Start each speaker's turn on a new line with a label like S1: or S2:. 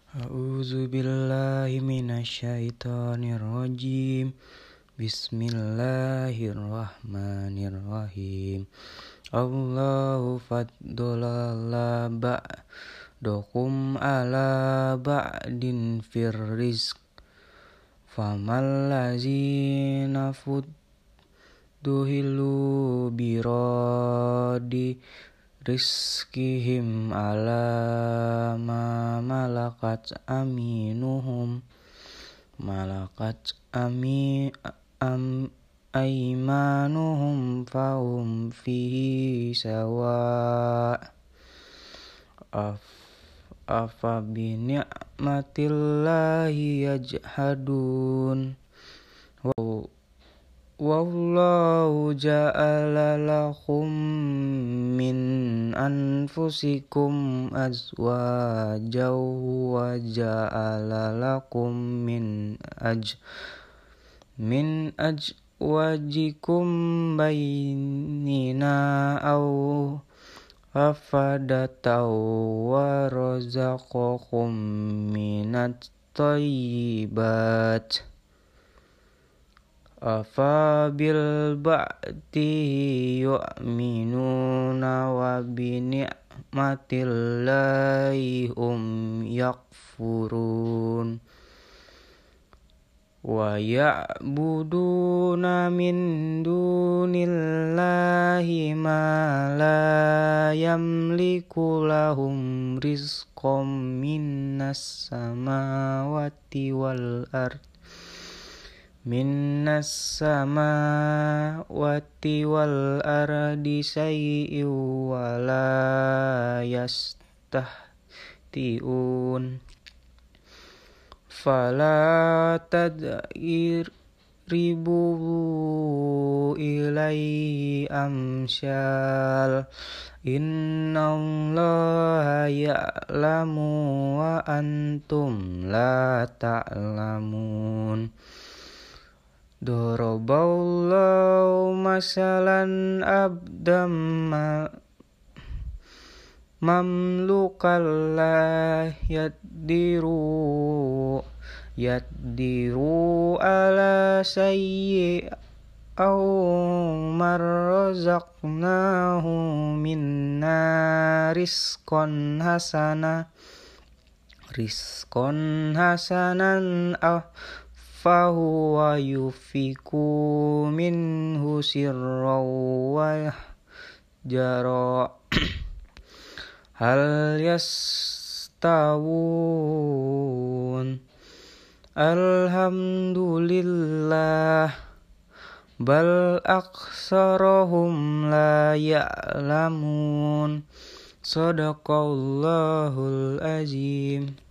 S1: A'udzu billahi minasyaitonir rajim. Bismillahirrahmanirrahim. Allahu faddala ba'dakum ala ba'din fir rizq. Famal ladzina fudduhilu biradi rizqihim ala ma malakat aimanuhum fahum fihi sawa. Afa bi ni'matillahi yajhadun. Wallahu ja'ala lakum min anfusikum azwajan wa ja'ala lakum min azwajikum bainina aw afadataw wa razaqakum minat thayyibat. Afa bil ba'di yu'minuna wa bi ni'matillahi yakfurun. Wa ya'buduna min dunillahi ma la yamliku lahum rizqan minas samawati wal ard. Minnas samawati wal ardi syai'in wa la yastahti'un. Fala tadribu ilaihi amsyal. Innallaha ya'lamu wa antum la ta'lamun. Daraballahu masalan abdam mamlukan la yaddiru ala sayyi aw marrazaqnahu minna rizqan hasanan fahuwa yufiku minhu sirran wa jara. Hal yastawun? Alhamdulillah bal aktsarahum la ya'lamun. Shadaqallahul azim.